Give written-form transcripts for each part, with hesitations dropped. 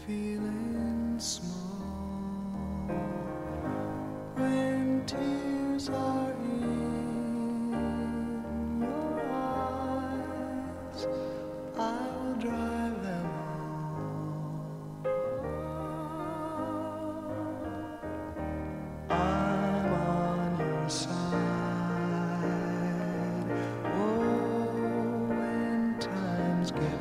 feeling small when tears are in your eyes. I will drive them all. I'm on your side. Oh, when times get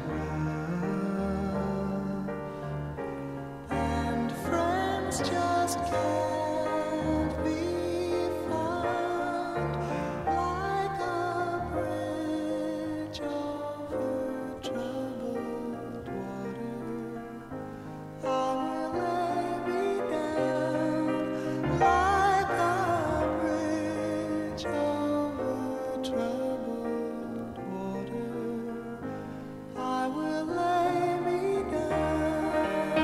rough and friends just can't be found, like a bridge over troubled water, I will lay me down. Like a bridge over troubled water, I will lay me down.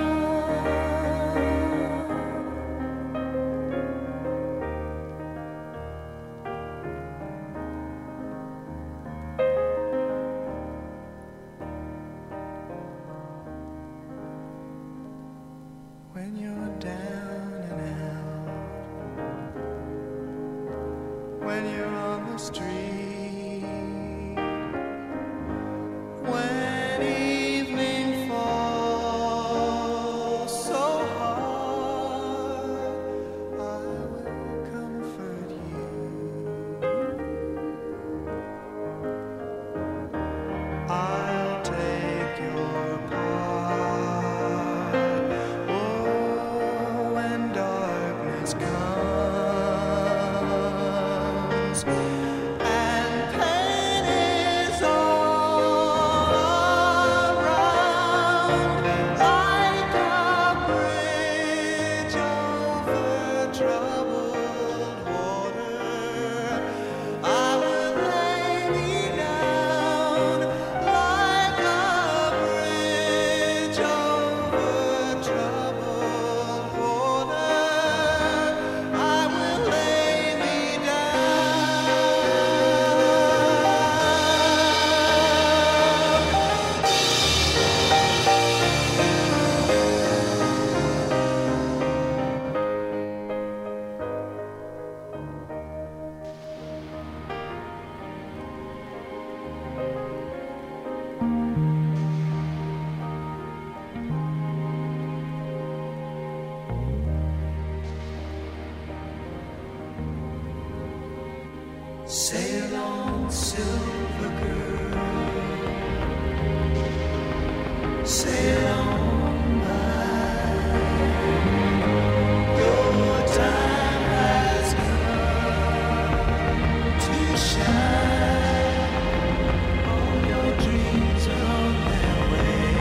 When you're down and out, when you're on the street, when evening falls so hard, I will comfort you. I'll take your part. Oh, when darkness comes and pain is all around, like a bridge over troubled water, I will lay me down. Like a bridge over troubled water, I will lay me Sail on, silver girl, sail on by. Your time has come to shine. All your dreams are on their way.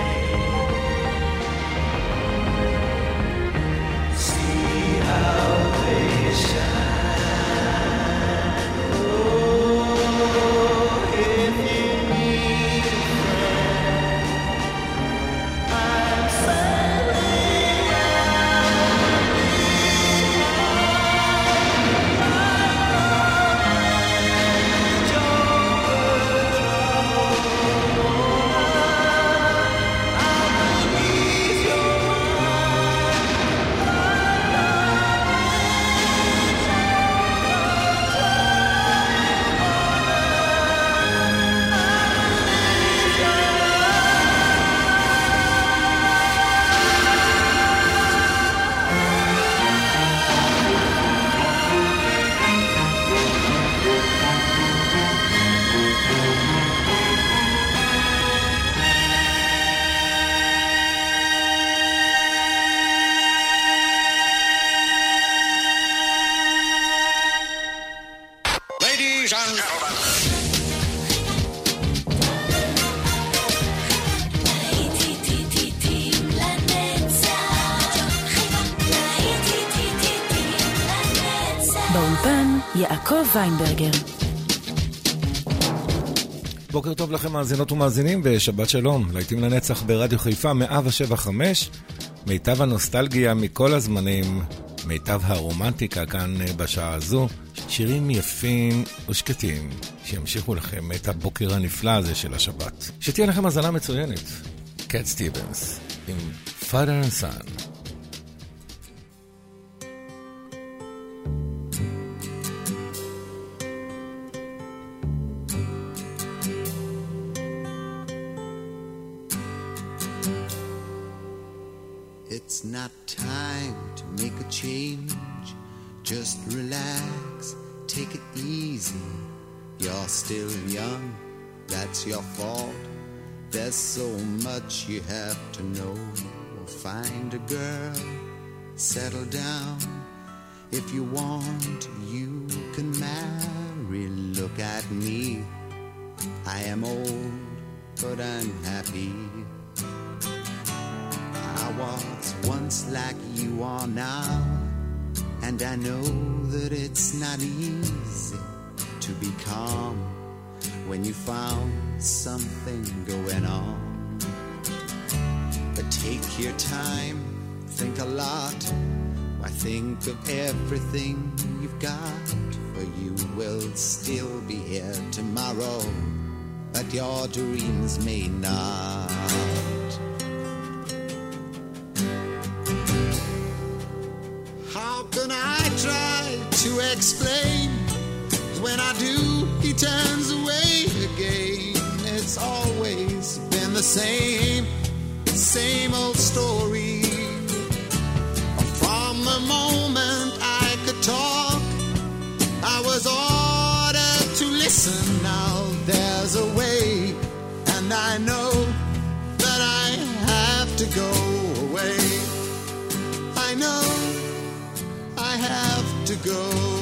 See how they shine. If you need a friend, I'm sailing out bridge over troubled water. I will ease your Ladies and gentlemen. באולפן יעקב ויינברגר. בוקר טוב לכם מאזינות ומאזינים ושבת שלום. להיטים לנצח ברדיו חיפה 107.5, מיטב הנוסטלגיה מכל הזמנים, מיטב הרומנטיקה כאן בשעה הזו, שירים יפים ושקטים שימשיכו לכם את הבוקר הנפלא הזה של השבת. שתהיה לכם הזנה מצוינת. קט סטיבנס עם Father and Son. It's not time to make a change. Just relax, take it easy. You're still young, that's your fault. There's so much you have to know. Find a girl, settle down. If you want, you can marry. Look at me, I am old, but I'm happy. I was once like you are now, and I know that it's not easy to be calm when you found something going on. But take your time, think a lot. Why, think of everything you've got, for you will still be here tomorrow, but your dreams may not. How can I try to explain? When I do, he turns away again. It's always been the same old story. From the moment I could talk, I was ordered to listen. Now there's a way, and I know that I have to go away. I know I have to go.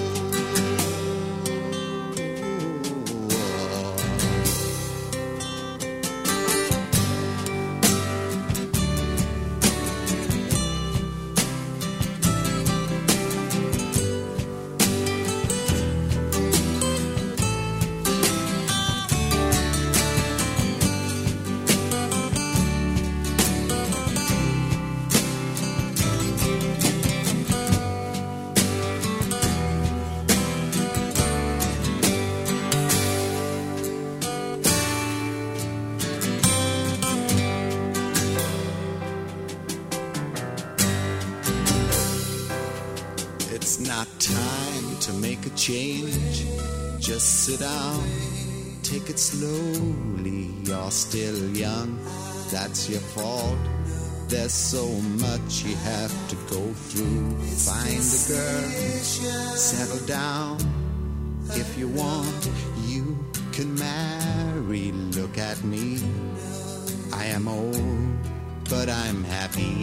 Change, just sit down, take it slowly. You're still young, that's your fault. There's so much you have to go through. Find a girl, settle down. If you want, you can marry. Look at me, I am old, but I'm happy.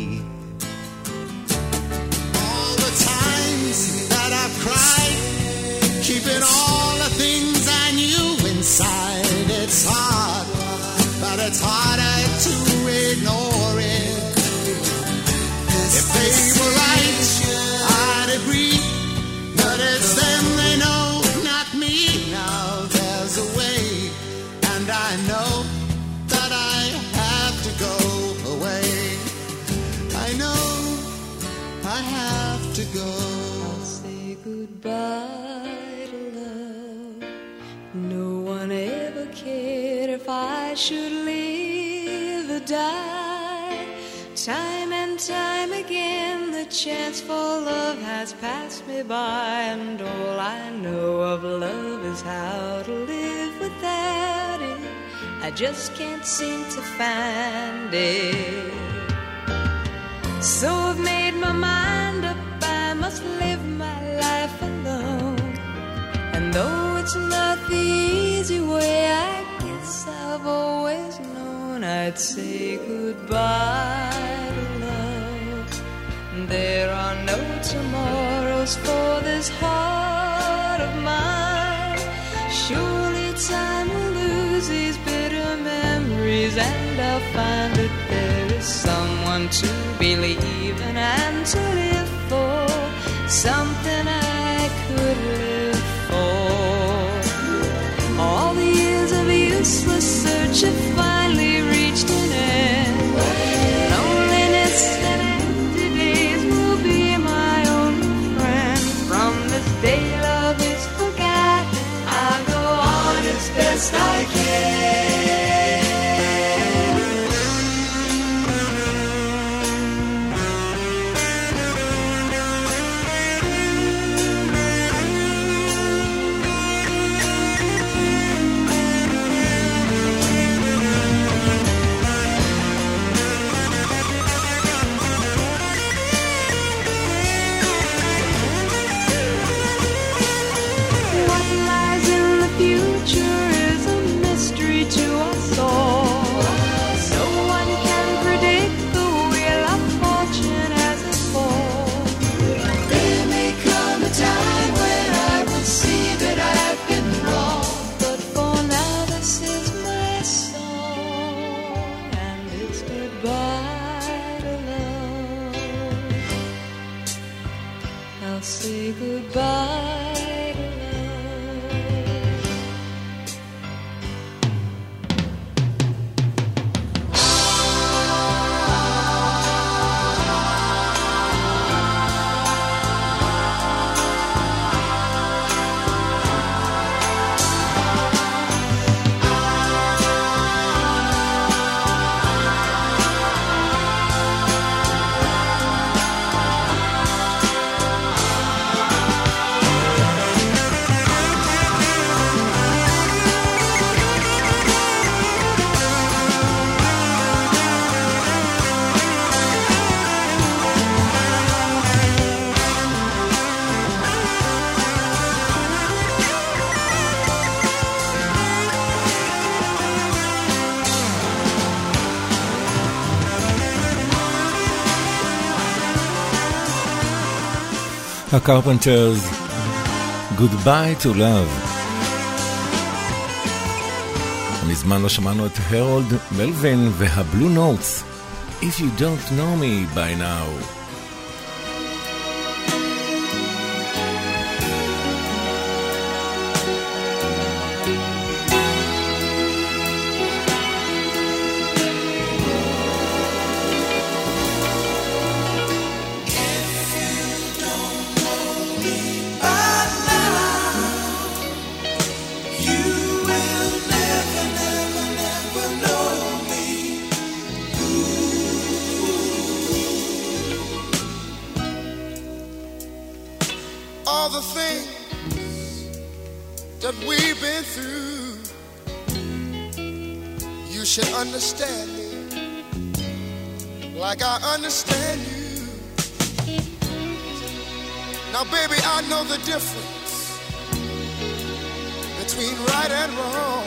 All the times that I've cried, keeping all the things I knew inside. It's hard, but it's harder to ignore it. If they were right, I'd agree, but it's them they know, not me. Now there's a way, and I know that I have to go away. I know I have to go. I'll say goodbye to love. No one ever cared if I should live or die. Time and time again the chance for love has passed me by, and all I know of love is how to live without it. I just can't seem to find it. So I've made my mind up, I must live my life alone. And though it's not the easy way, I guess I've always known I'd say goodbye to love. There are no tomorrows for this heart of mine. Surely time will lose these bitter memories, and I'll find that there is someone to believe in and to live for, something I could live for. All the years of useless search have finally reached an end. Loneliness and empty days will be my only friend. From this day love is forgotten, I'll go on as best I can. say goodbye to love. הקרפנטרס, Goodbye to Love. מזמן לא שמענו את הרולד מלווין והבלו נוטס, If you don't know me by now. Understand me like I understand you. Now baby, I know the difference between right and wrong.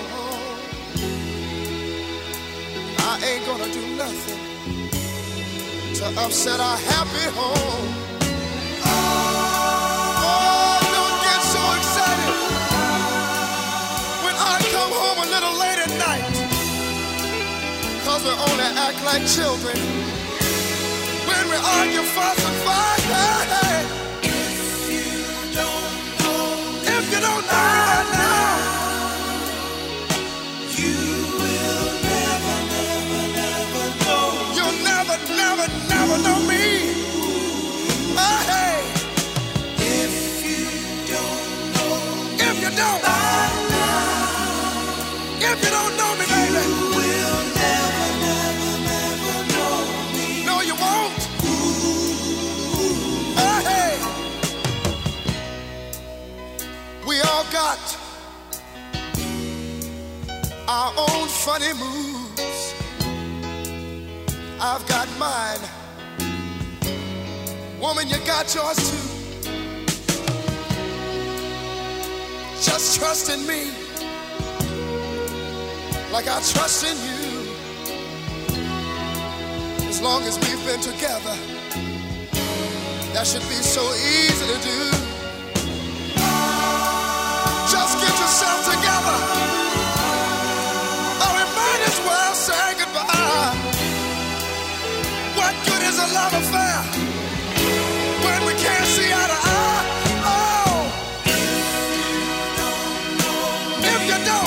I ain't gonna do nothing to upset our happy home. Oh, don't get so excited when I come home a little late at night, 'cause we only act like children when we argue, fuss and fight. Hey, if you don't know right now, you will never, never, never know. You'll never, never, never know me. Hey, if you don't know, if you don't, if you don't know me, baby, you will never, never, never know me. No, you won't. Hey, we all got our own funny moves. I've got mine. Woman, you got yours too. Just trust in me like I trust in you. As long as we've been together, that should be so easy to do. Just get yourself together, or we might as well say goodbye. What good is a love affair when we can't see eye to eye? Oh, if you don't,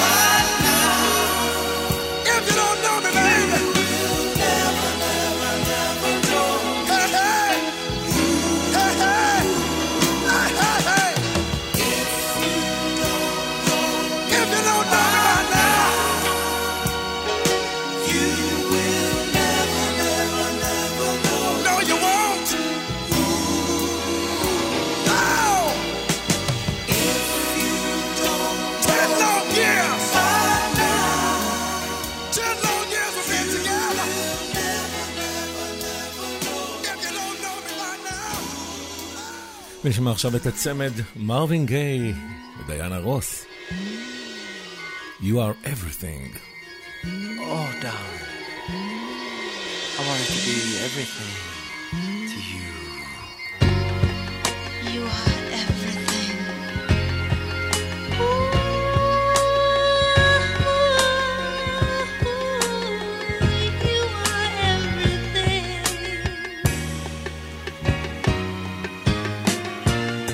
if you don't know me, baby, you'll never, never, never know. Hey, hey, hey, hey, hey, hey, hey. If you don't know me right now, you will never, never, never know. No, you won't. No. If you don't 10 long years. 10 long years we've been together. If you don't know me right now. נשמע עכשיו את הצמד מרווין גיי ודיאנה רוס. You are everything. Oh, darling, I wanted to be everything to you. You are everything. You are everything.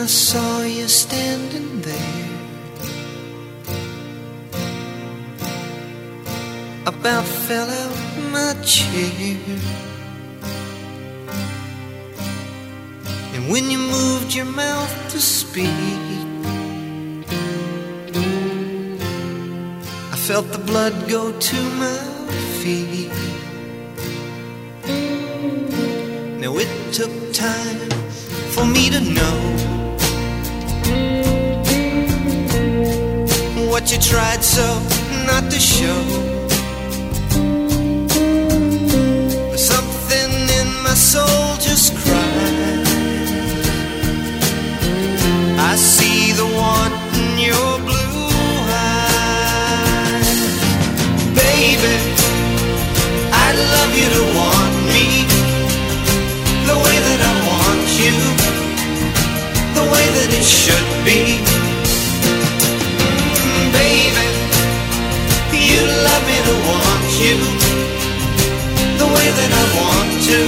saw you standing there, about fell out my chair. And when you moved your mouth to speak, I felt the blood go to my feet. Now it took time for me to know what you tried so not to show. But something in my soul just cried. I see the want in your blue eyes. Baby, I'd love you to want me the way that I want you, the way that it should be. Baby, you love me to want you the way that I want to,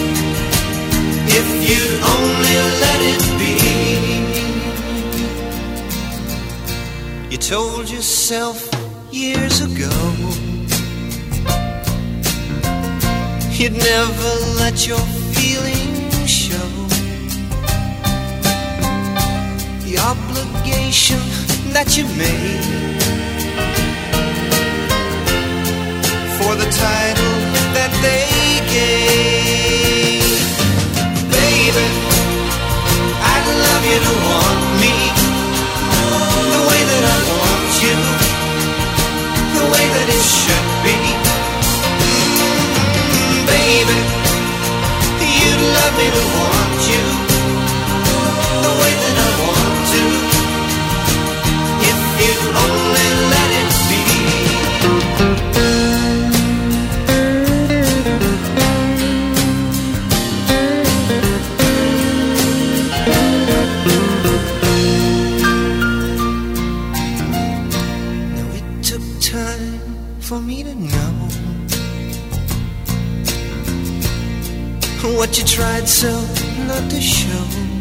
if you'd only let it be. You told yourself years ago you'd never let your feelings show. The obligation that you made for the title that they gave. Baby, I'd love you to want me the way that I want you, the way that it should be. Baby, you'd love me to want you the way that I want to, if you'd only let it be. Now it took time for me to know what you tried so not to show.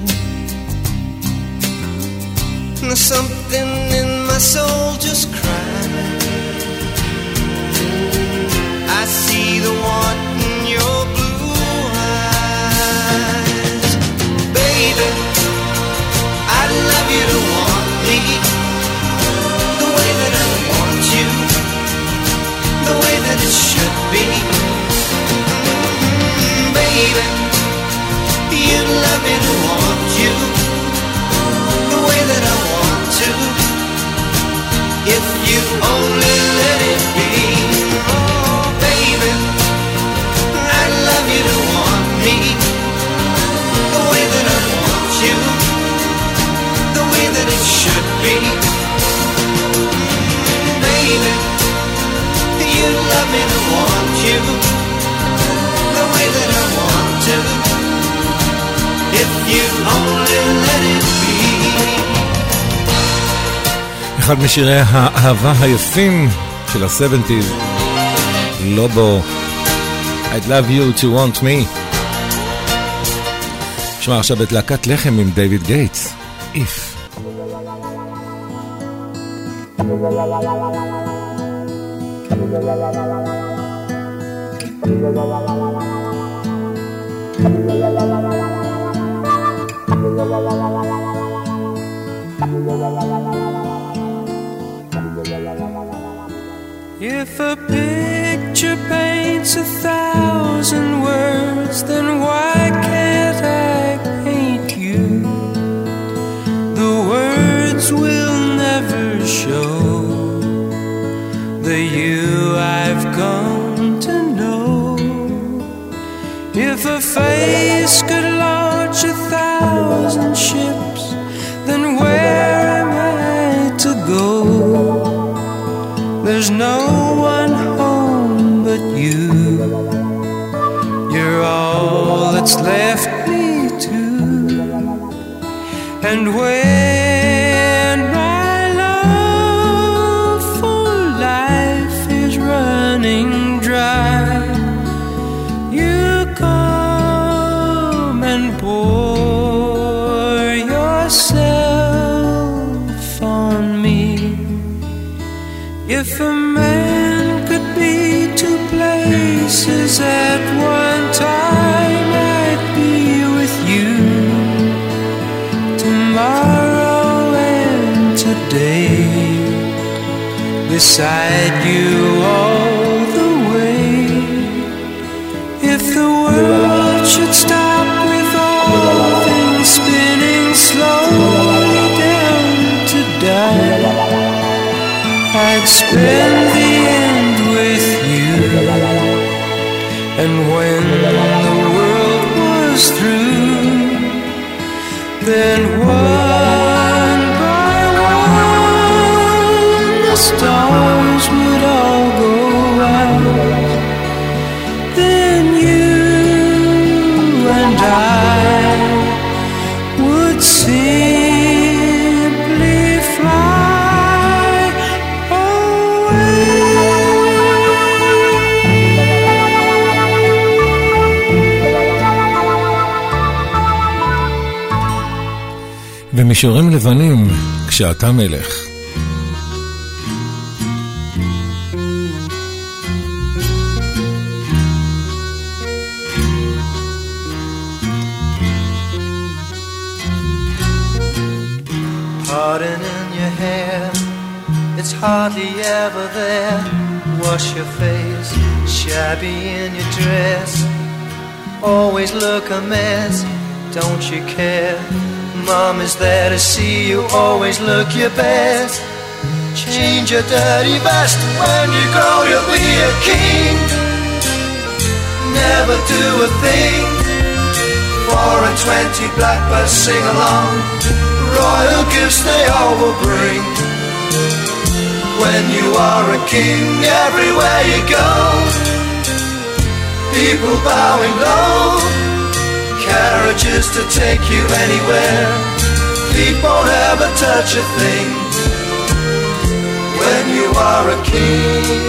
Now something in my soul just cried. I see the want in your blue eyes. Baby, I'd love you to want me the way that I want you, the way that it should be. Baby, you'd love me to want you the way that I want to, if you only let it be. Oh, baby, I'd love you to want me the way that I want you, the way that it should be. Baby, you'd love me to want you the way that I want to, if you only let it be. אחד משירי האהבה היפים של ה-70s, לובו, I'd love you to want me. נשמע עכשיו את להקת לחם עם דיוויד גייטס, If. If a picture paints 1,000 words, then why can't I paint you? The words will never show the you I've come to know. If a face could launch 1,000 ships, then where am I to go? There's no one home but you. You're all that's left me to. And when my love for life is running dry, you come and pour yourself If a man could be two places at one time, I'd be with you tomorrow and today, beside you all the way. If the world should stop with all things spinning slowly down to die, I'd spend the end with you. And when the world was through, then one by one the stars would all go out. Then you and I would simply fly away. במישורים לבנים, כשאתה מלך. Parting in your hair, it's hardly ever there. Wash your face, shabby in your dress, always look a mess, don't you care? Mom is there to see you, always look your best. Change your dirty vest, when you grow you'll be a king. Never do a thing, 4 and 20 blackbirds sing along, royal gifts they all will bring. When you are a king, everywhere you go, people bowing low, carriages to take you anywhere, feet won't ever touch a thing. When you are a king,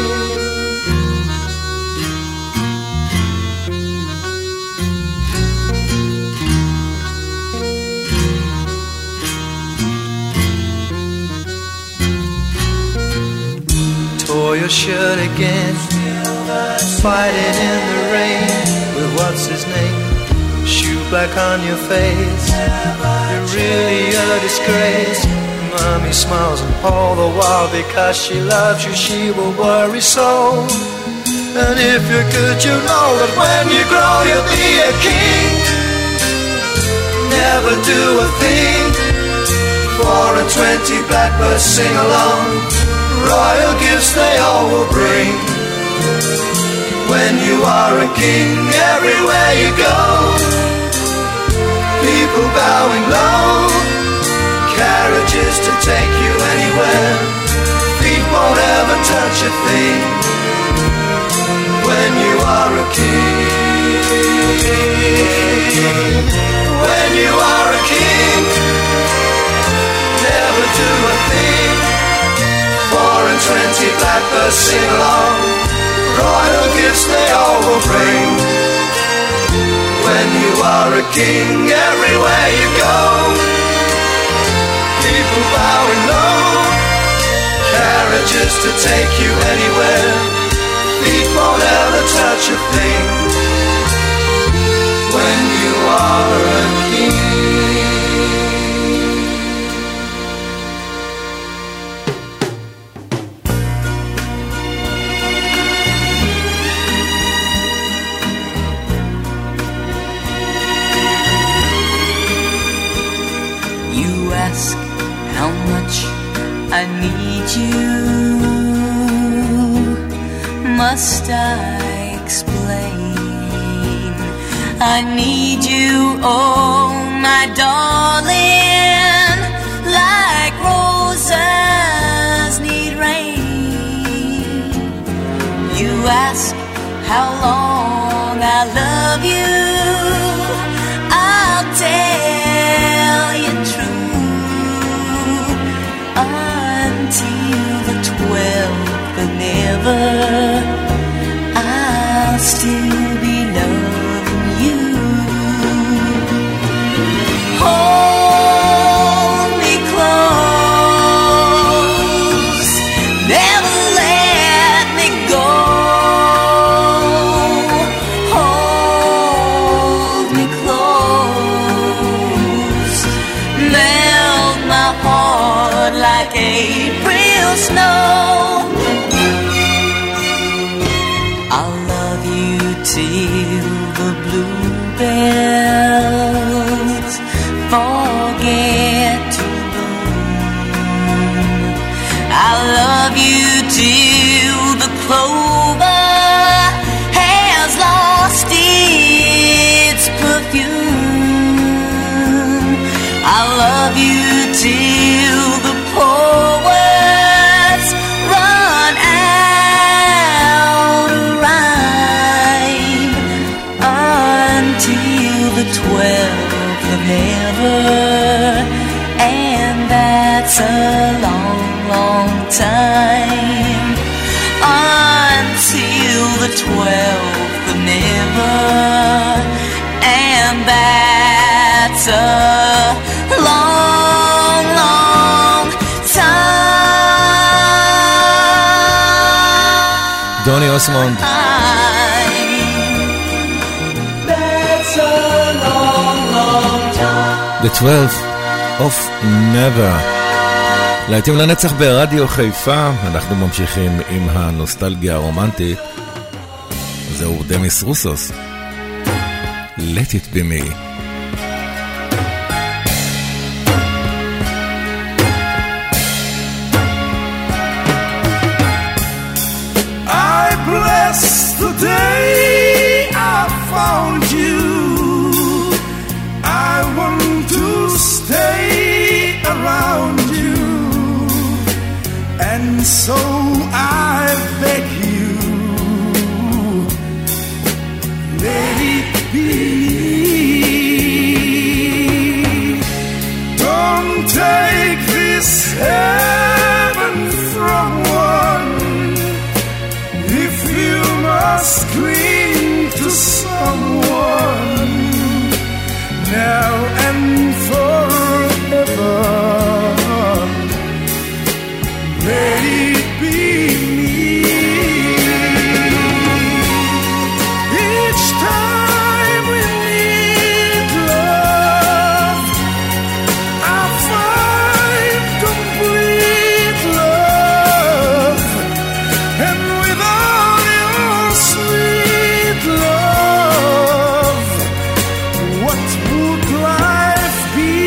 tore your shirt again, fighting in the rain with what's his name, shoe black on your face, you're really a disgrace. Mommy smiles and all the while, because she loves you she will worry so. And if you're good you know that when you grow you'll be a king. Never do a thing, 4 and 20 blackbirds sing along, royal gifts they all will bring. When you are a king, everywhere you go, people bowing low, carriages to take you anywhere, feet won't ever touch a thing. When you are a king, when you are a king, never do a thing, 4 and 20 blackbirds sing along, royal gifts they all will bring. When you are a king, everywhere you go, people bowing low, carriages to take you anywhere, feet won't ever touch a thing. When you are a king. How much I need you, must I explain? I need you, oh my darling, like roses need rain. You ask how long I love you, I'll tell you true. Until the 12th of never, I'll still be loving you. Oh, till the bluebells forget to bloom. I love you till the clover has lost its perfume. I love you till the poets run out of rhyme, until the 12th of never, and that's a long, long time. Until the 12th of never, and that's a long, long time. דוני אוסמונד. That's a long, long time. The 12th of Never. להיטים לנצח ברדיו חיפה. אנחנו ממשיכים עם הנוסטלגיה הרומנטית. זהו דמיס רוסוס. Let it be me. I bless the day I found you. I want to stay around you, and so I beg you, let it be. Don't take this heaven from one. If you must cling to someone now and forever, let it be me. Each time we need love, I find complete love, and without your sweet love, what would life be?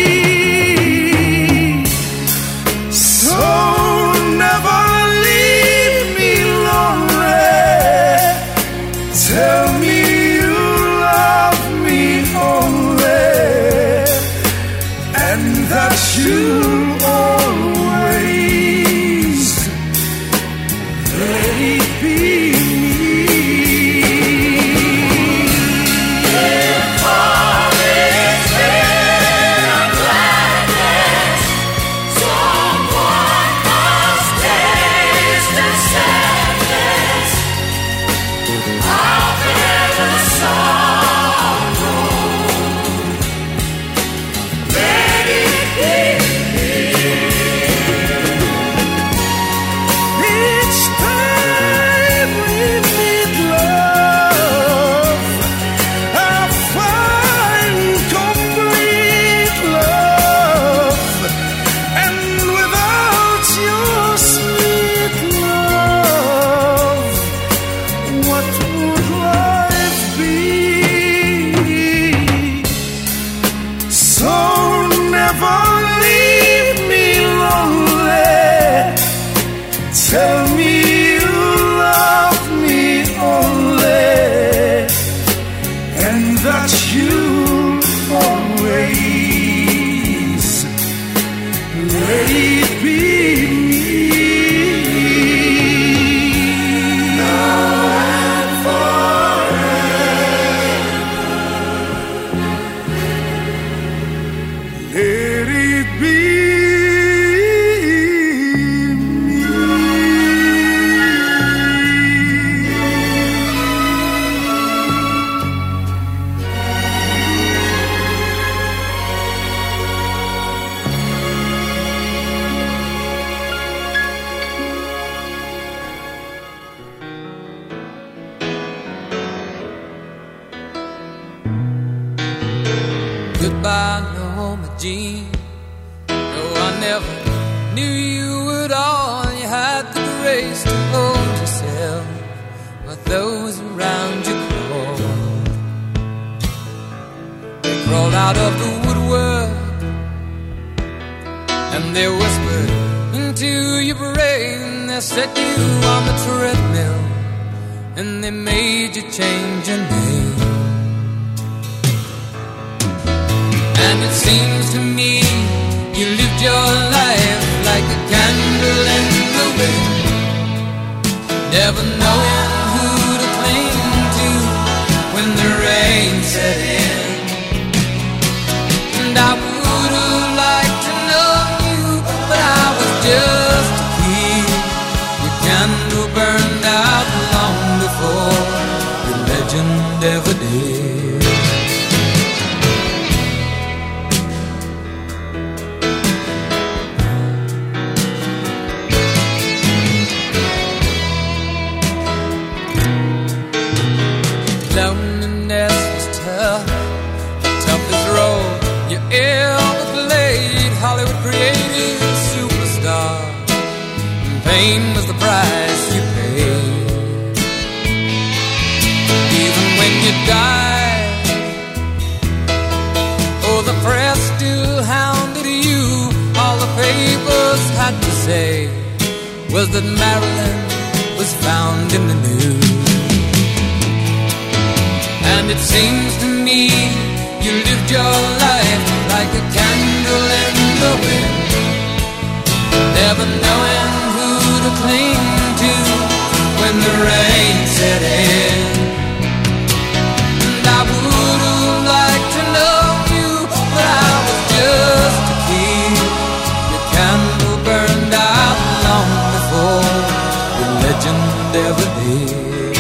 So never leave me lonely. Tell me you love me only, and that you'll always let it be me. If all is fair and gladness, someone must taste the sadness. I'll bear the sorrow. Let it be me. Each time we need love, I find complete love, and without your sweet love, what would life be? So never leave me lonely. Tell me you love me only, and that you'll always let it be me. Now and forever, let it be me. Goodbye, Norma Jean. No, I never knew you at all. You had the grace to hold yourself, but those around you crawled out of the woodwork, and they whispered into your brain. They set you on the treadmill, and they made you change your name. And it seems to me you lived your life like a candle in the wind, never knowing who to cling to when the rain set in. And I would have liked to know you, but I was just a kid. Your candle burned out long before your legend ever did. Loneliness was tough, the toughest role you ever played. Hollywood created a superstar, and fame was the price you paid. Even when you died, oh, the press still hounded you. All the papers had to say was that Marilyn was found in the news. And it seems to me you lived your life like a candle in the wind, never knowing who to cling to when the rain set in. And I would have liked to know you, but I was just a kid. Your candle burned out long before your legend ever did.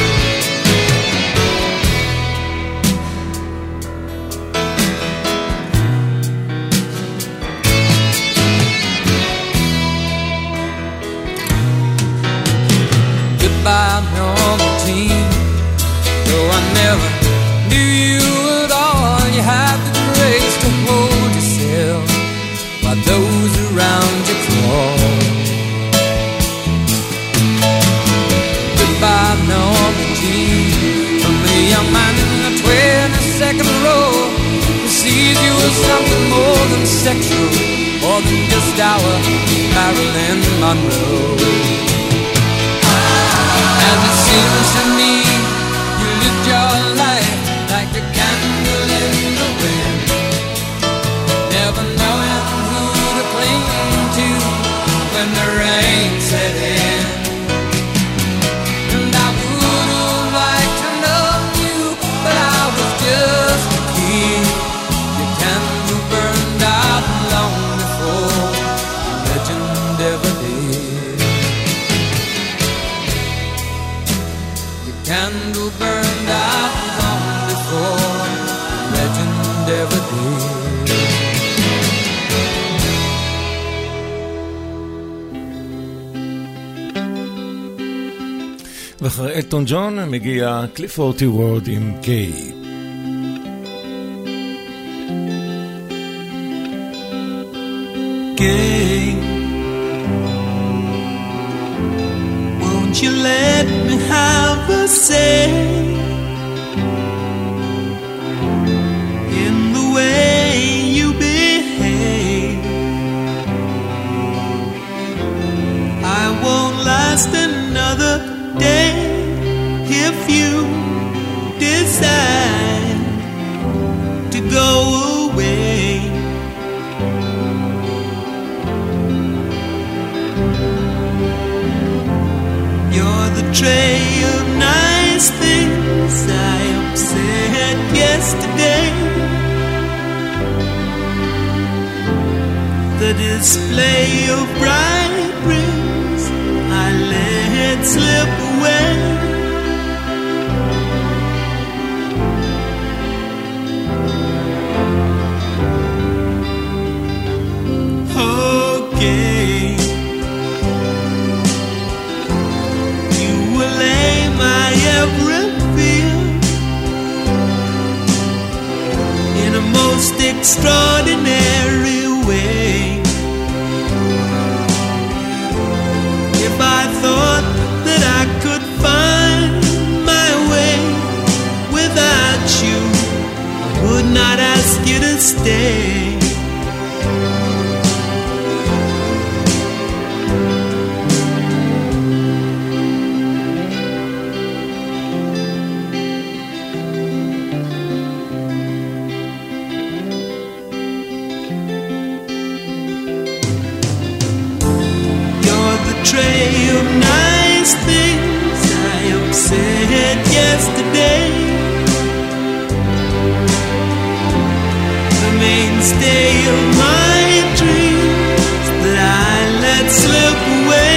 By normal team, though I never knew you at all. You had the grace to hold yourself while those around you crawl. Goodbye normal team, from the young man in the 22nd row who sees you as something more than sexual, more than just our Marilyn Monroe. And it seems to me you lived your life like a candle in the wind, never knowing who to cling to when the rain set in. And I would have liked to know you, but I was just a kid. Your candle burned out long before your legend ever did. Candle burned out long before the legend ever did. ואחרי אלטון ג'ון מגיע קליף אורטי וורד עם קיי. Gay, won't you let me have a say in the way you behave? I won't last another day if you decide to go away. You're the tray of nice things I upset yesterday, the display of bright rings I let slip away. Okay, you will lay my every fear in a most extraordinary way. If I thought that I could find my way without you, I would not ask you to stay. Tray of nice things I upset yesterday. The mainstay of my dreams that I let slip away.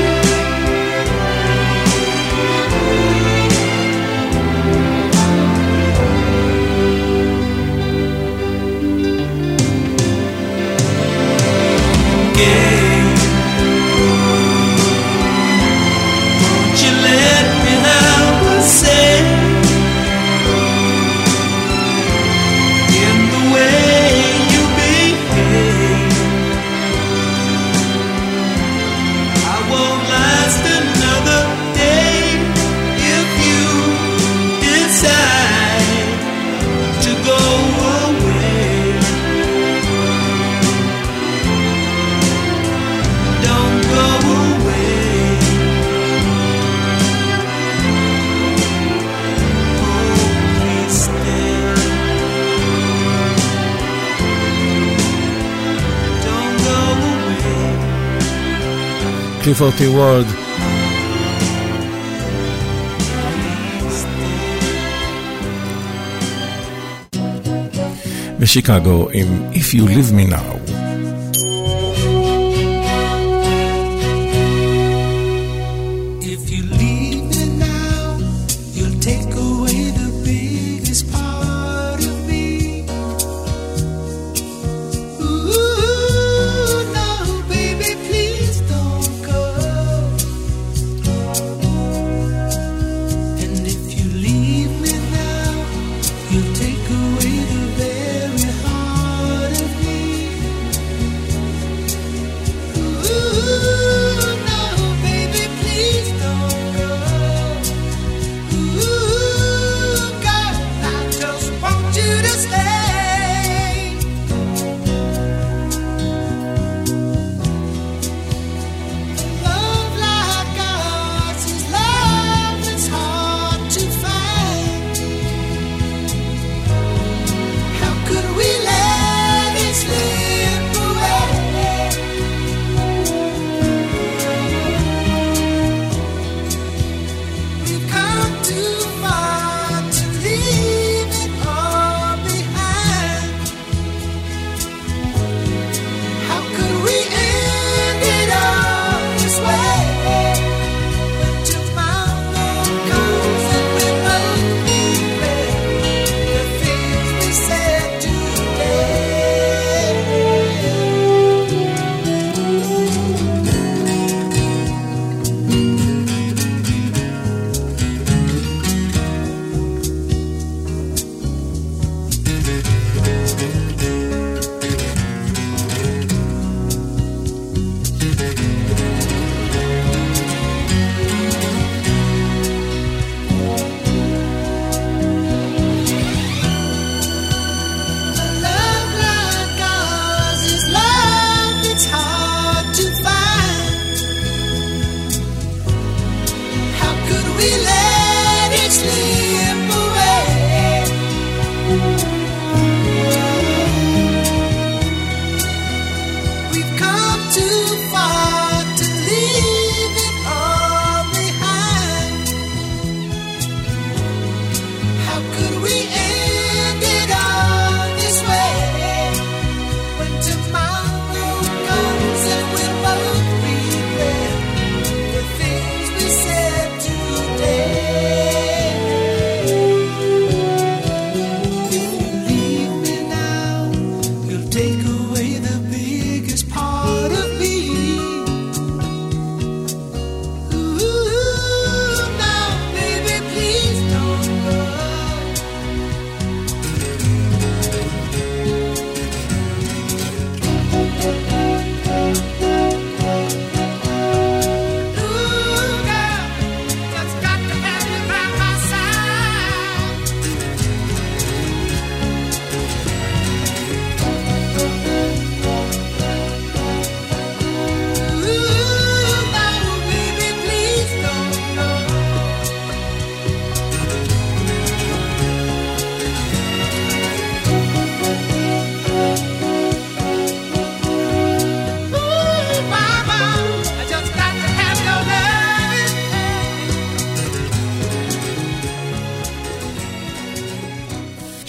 Clifford T. Ward. ושיקגו עם If You Leave Me Now.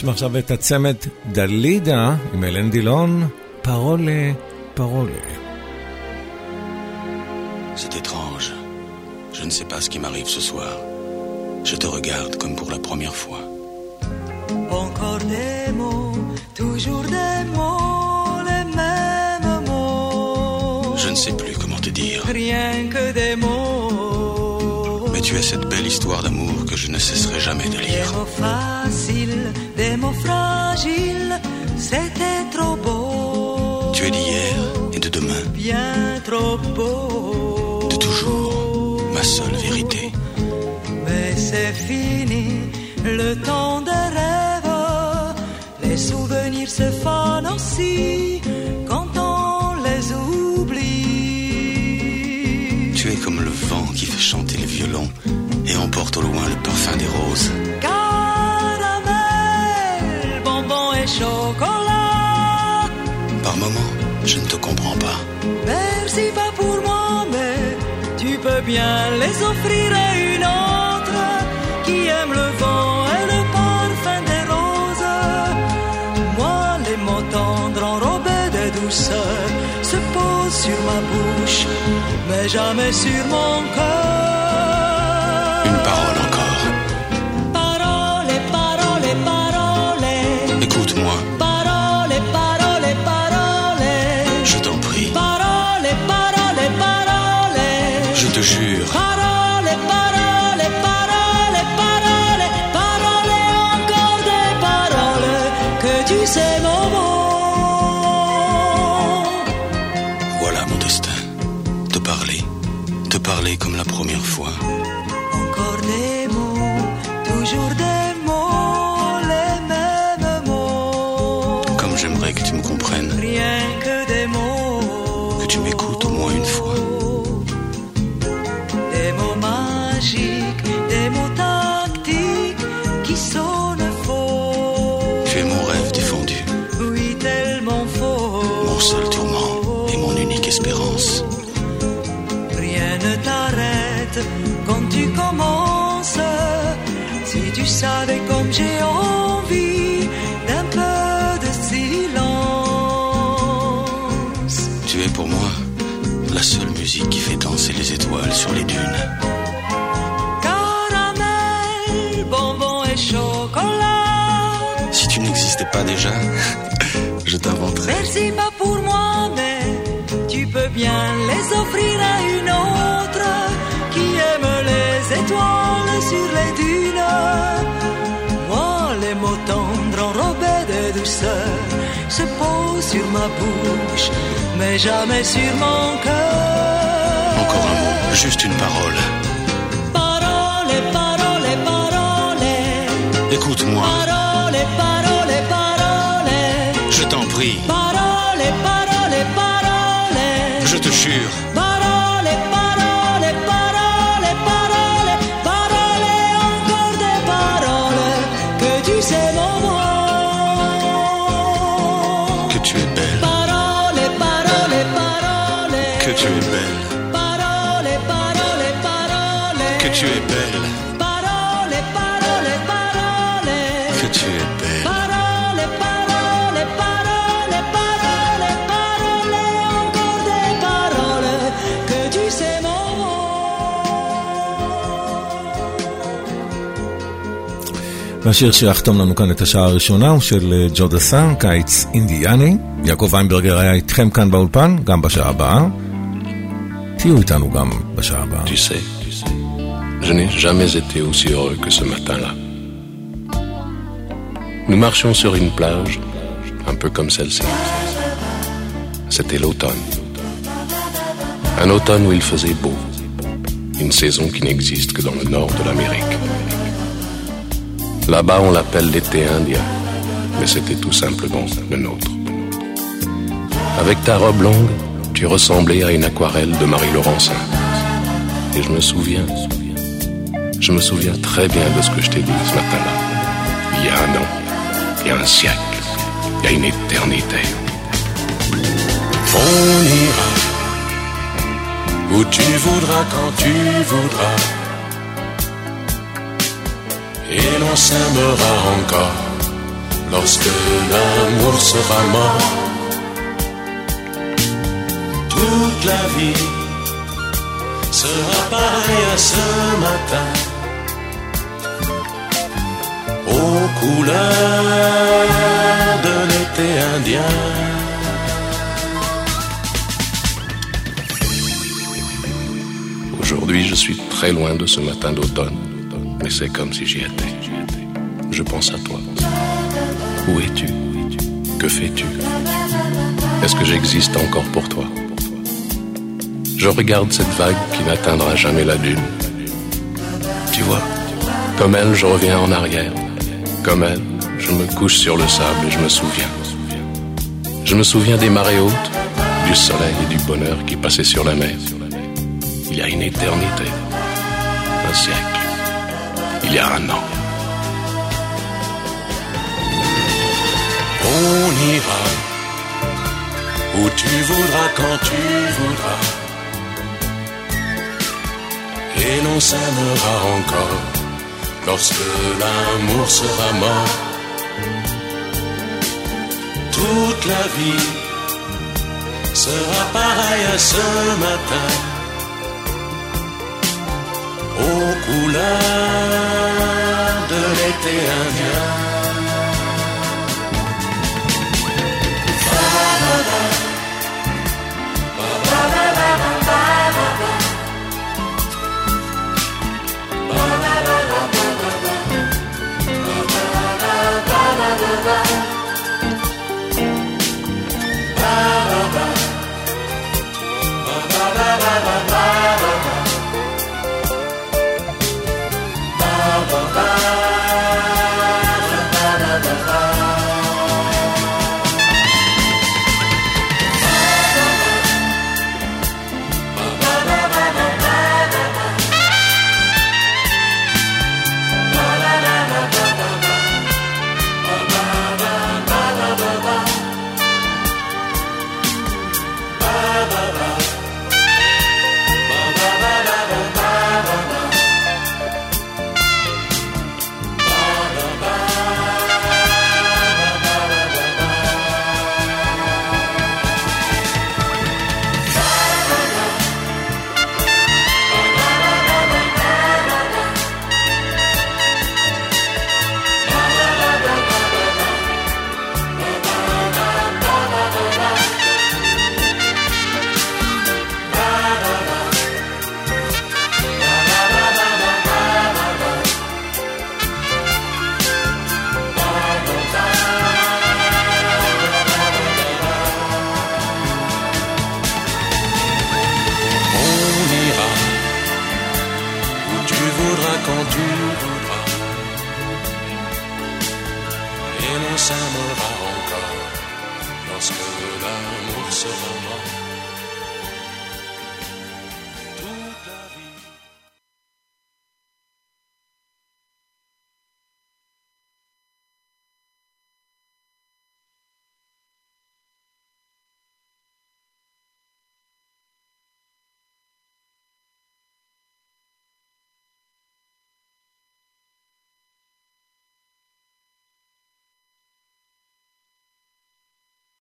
נשמע עכשיו את הצמד דלידה עם אלן דילון, פרולה, פרולה. C'est étrange. Je ne sais pas ce qui m'arrive ce soir. Je te regarde comme pour la première fois. Encore des mots, toujours des mots, les mêmes mots. Je ne sais plus comment te dire. Rien que des mots. Mais tu as cette belle histoire d'amour que je ne cesserai jamais de lire. Des mots faciles, des mots fragiles, c'était trop beau. Tu es d'hier et de demain. Bien trop beau. De toujours, ma seule vérité. Mais c'est fini, le temps des rêves. Les souvenirs se fanent aussi quand on les oublie. Tu es comme le vent qui fait chanter le violon et emporte au loin le parfum des roses. Caramel, bonbon et chocolat. Par moments, je ne te comprends pas. Merci pas pour moi, mais tu peux bien les offrir à une autre qui aime le vent et le parfum des roses. Moi, les mots tendres enrobés de douceur se posent sur ma bouche, mais jamais sur mon cœur. Une parole encore. Parole, parole, parole. Écoute-moi. Parole, parole, parole. Je t'en prie. Parole, parole, parole. Je te jure. Parole, parole, parole, parole. Parole, encore des paroles que tu sais mon mot. Voilà mon destin. Te parler comme la première fois. Encore des mots, toujours des mots, les mêmes mots. Comme j'aimerais que tu me comprennes. Rien que des mots. Que tu m'écoutes au moins une fois. Des mots magiques, des mots tactiques qui sonnent faux. Tu es mon rêve défendu. Oui, tellement faux. Mon seul tourment et mon unique espérance. Rien ne t'arrête quand tu commences. Si tu savais comme j'ai envie d'un peu de silence. Tu es pour moi la seule musique qui fait danser les étoiles sur les dunes. Caramel, bonbon et chocolat. Si tu n'existais pas déjà, je t'inventerais. Merci pas pour moi, mais tu peux bien les offrir à une autre qui aime les étoiles sur les dunes. Moi, les mots tendres enrobés de douceur se posent sur ma bouche, mais jamais sur mon cœur. Encore un mot, juste une parole. Parole, parole, parole. Écoute-moi. Parole, parole, parole. Je t'en prie. Parole, parole, parole. Je te jure. Parole, parole, parole, parole. Parole, encore des paroles que tu sais mon mot. Que tu es belle. Parole, parole, parole. Que tu es belle. Parole, parole, parole. Que tu es belle. Parole, parole, parole. Que tu es belle. Parole, parole, parole, parole, parole, encore des paroles que tu sais mon mot. והשיר שיחתום לנו כאן את השעה הראשונה הוא של ג'ו דסן, קיץ אינדיאני. יעקב ויינברגר היה איתכם כאן באולפן, גם בשעה הבאה. תהיו איתנו גם בשעה הבאה. Tu sais, je n'ai jamais été aussi heureux que ce matin-là. Nous marchions sur une plage, un peu comme celle-ci. C'était l'automne. Un automne où il faisait beau. Une saison qui n'existe que dans le nord de l'Amérique. Là-bas, on l'appelle l'été indien, mais c'était tout simplement le nôtre. Avec ta robe longue, tu ressemblais à une aquarelle de Marie Laurencin. Et je me souviens très bien de ce que je t'ai dit ce matin-là. Il y a un an, il y a un siècle, il y a une éternité. On ira où tu voudras, quand tu voudras, et l'on s'aimera encore lorsque l'amour sera mort. Toute la vie sera pareille à ce matin, aux couleurs de l'été indien. Aujourd'hui, je suis très loin de ce matin d'automne, mais c'est comme si j'y étais. Je pense à toi. Où es-tu? Que fais-tu? Est-ce que j'existe encore pour toi? Je regarde cette vague qui n'atteindra jamais la dune. Tu vois, comme elle, je reviens en arrière. Comme elle, je me couche sur le sable et je me souviens. Je me souviens des marées hautes, du soleil et du bonheur qui passaient sur la mer. Il y a une éternité, un siècle, il y a un an. On ira où tu voudras, quand tu voudras, et l'on s'aimera encore lorsque l'amour sera mort. Toute la vie sera pareille à ce matin, aux couleurs de l'été indien. Quand tu voudras, et l'on s'aimera encore lorsque l'amour sera mort.